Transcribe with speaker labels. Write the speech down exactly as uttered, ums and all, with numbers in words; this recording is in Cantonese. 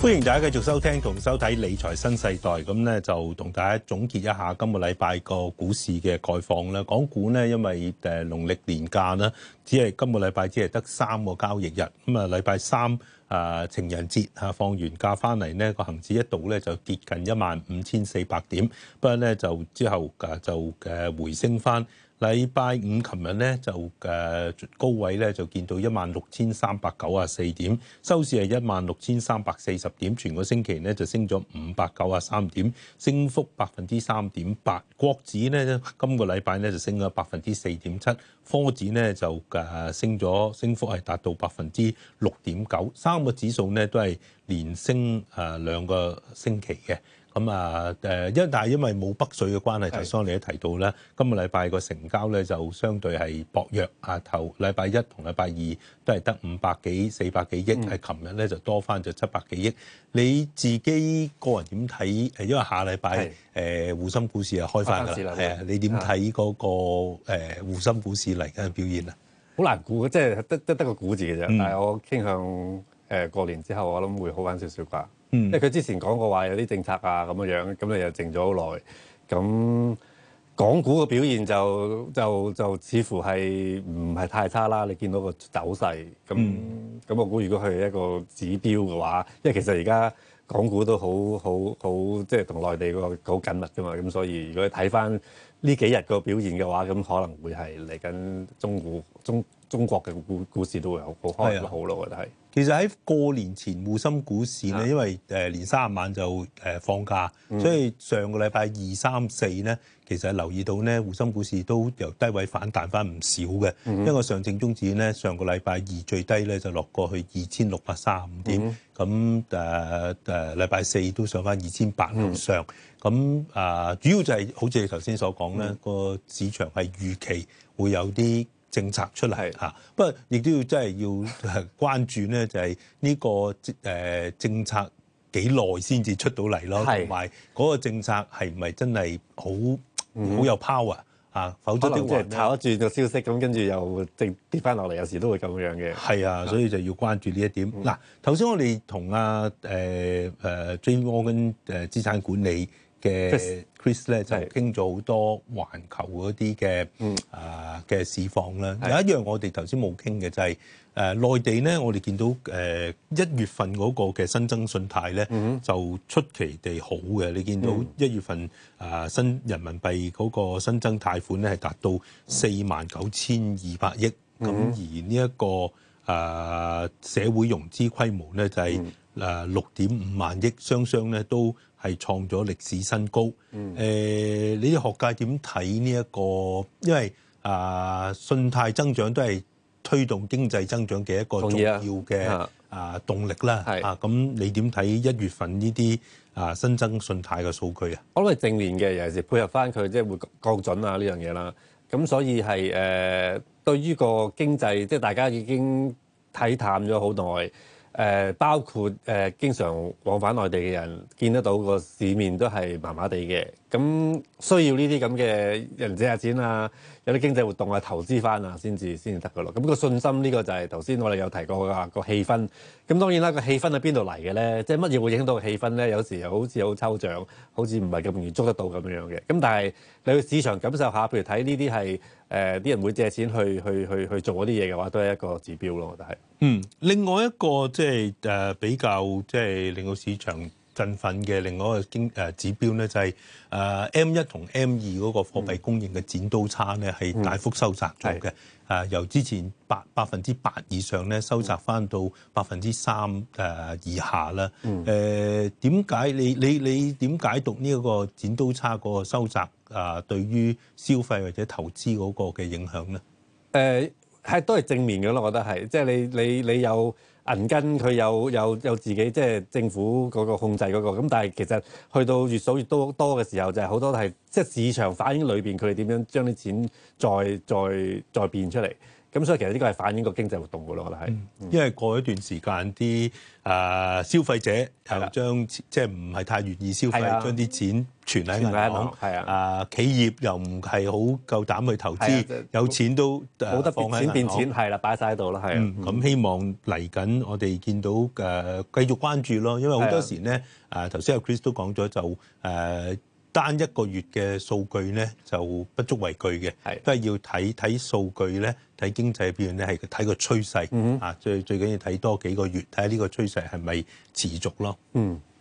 Speaker 1: 歡迎大家繼續收聽同收睇理財新世代，咁咧就同大家總結一下今個禮拜個股市嘅概況啦。港股呢，因為誒農曆年假啦，只係今個禮拜只係得三個交易日，咁啊禮拜三啊情人節啊放完假翻嚟呢，個恆指一度咧就跌近一萬五千四百點，不過咧就之後誒就誒回升翻。禮拜五琴日咧就誒高位咧就見到一萬六千三百九十四點，收市係一萬六千三百四十點，全個星期咧就升咗五百九十三點，升幅百分之三點八。國指咧今個禮拜咧就升咗百分之四點七，科指咧就誒升咗，升幅係達到百分之六點九，三個指數咧都係連升誒兩個星期嘅。咁啊誒，因但係因為冇北水嘅關係，頭先我哋都提到咧，今個禮拜個成交咧就相對係薄弱啊。頭禮拜一同禮拜二都係得五百幾、四百幾億，係琴日咧就多翻咗七百幾億。你自己個人點睇？誒，因為下禮拜誒滬深股市啊開翻㗎啦，係啊，你點睇嗰個誒滬深股市嚟緊嘅表現啊？
Speaker 2: 好難估，即係得得得個估字嘅啫。嗯、但係我傾向誒過年之後，我諗會好翻少少啩。嗯、因為佢之前講過話有啲政策啊咁樣樣，咁你又靜咗好耐。咁港股嘅表現就就就似乎係唔係太差啦。你見到個走勢，咁咁、嗯、我估如果佢係一個指標嘅話，因為其實而家港股都好好好，即係同內地個好緊密㗎嘛。咁所以如果你睇翻呢幾日個表現嘅話，咁可能會係嚟緊中股中中國嘅股股市都會好好開得好咯，我覺得係。
Speaker 1: 其實喺過年前滬深股市咧，因為誒年三十晚就誒放假，嗯、所以上個禮拜二三四咧，其實留意到咧滬深股市都由低位反彈翻唔少嘅。嗯、因為上證綜指咧上個禮拜二最低咧就落過去二千六百三十五點，咁誒誒禮拜四都上翻二千八樓上。咁啊、呃、主要就係、是、好似你頭先所講咧，個、嗯、市場係預期會有啲政策出嚟嚇，不過亦都要真係要關注咧，就係呢個誒政策幾耐先至出到嚟咯，同埋嗰個政策係唔係真係好好有 power 啊？否則的話，即係
Speaker 2: 炒一轉個消息，咁跟住又跌跌翻落嚟，有時都會咁樣嘅。
Speaker 1: 係啊，所以就要關注呢一點。嗱、嗯，頭先我哋同阿誒誒 J P Morgan 誒資產管理嘅 Chris 咧就傾咗好多環球嗰啲嘅啊嘅市況啦。有一樣我哋頭先冇傾嘅就係誒內地咧，我哋見到誒一月份嗰個嘅新增信貸咧就出奇地好嘅。你見到一月份啊新人民幣嗰個新增貸款咧係達到四萬九千二百億，咁而呢一個啊社會融資規模咧就係誒六點五萬億，雙雙咧都係創咗歷史新高。誒、嗯呃，你哋學界點睇呢一個？因為啊、呃，信貸增長都係推動經濟增長嘅一個重要嘅啊、呃、動力啦。係啊，咁你點睇一月份呢啲啊新增信貸嘅數據啊？
Speaker 2: 我諗係正面嘅，尤其是配合翻佢即係會降準啊呢樣嘢啦。咁所以係誒、呃、對於個經濟，即係大家已經睇淡咗好耐。誒、呃、包括誒、呃、經常往返內地嘅人，見得到個市面都係麻麻地嘅，咁需要呢啲咁嘅人借下錢啊，有啲經濟活動啊，投資翻啊，先至先至得噶咯。咁個信心呢個就係頭先我哋有提過噶個氣氛。咁當然啦，個氣氛喺邊度嚟嘅咧？即係乜嘢會影響到個氣氛咧？有時又好似好抽象，好似唔係咁容易捉得到咁樣嘅。咁但係你去市場感受下，譬如睇呢啲係誒啲人會借錢去去去去做嗰啲嘢嘅話，都係一個指標咯，我覺得係。
Speaker 1: 嗯，另外一個即係誒比較即係令到市場振奮嘅另外一個經誒指標咧，就係誒 M 一同 M 二嗰個貨幣供應嘅剪刀差咧，係大幅收窄咗嘅。誒由之前八百分之八以上咧，收窄翻到百分之三誒以下啦。誒點解你你你點解讀呢一個剪刀差嗰個收窄啊？對於消費或者投資嗰個嘅影響咧？
Speaker 2: 誒係都係正面嘅咯，我覺得係，即係你你你有銀根，佢有有有自己即係政府嗰個控制嗰個，咁但係其實去到越數越多多嘅時候，就係好多係即係市場反映裏邊佢哋點樣將啲錢再再再變出嚟。 咁所以其實呢個係反映個經濟活動㗎咯，我覺得係。
Speaker 1: 嗯、因為過一段時間啲啊消費者又將即係唔係太願意消費，將啲錢存喺銀行，
Speaker 2: 係啊，
Speaker 1: 啊企業又唔係好夠膽去投資，
Speaker 2: 就是、
Speaker 1: 有錢都
Speaker 2: 冇得
Speaker 1: 放喺
Speaker 2: 錢變錢，係啦，擺晒喺度啦，係啊。
Speaker 1: 咁、嗯、希望嚟緊我哋見到誒、呃、繼續關注咯，因為好多時咧誒頭先阿 Chris 都講咗就誒。呃單一個月嘅數據咧就不足為據嘅，都係要睇睇數據咧，睇經濟表現咧係睇個趨勢，嗯、啊最最緊要睇多幾個月，睇下呢個趨勢係咪持續咯。
Speaker 2: 嗯。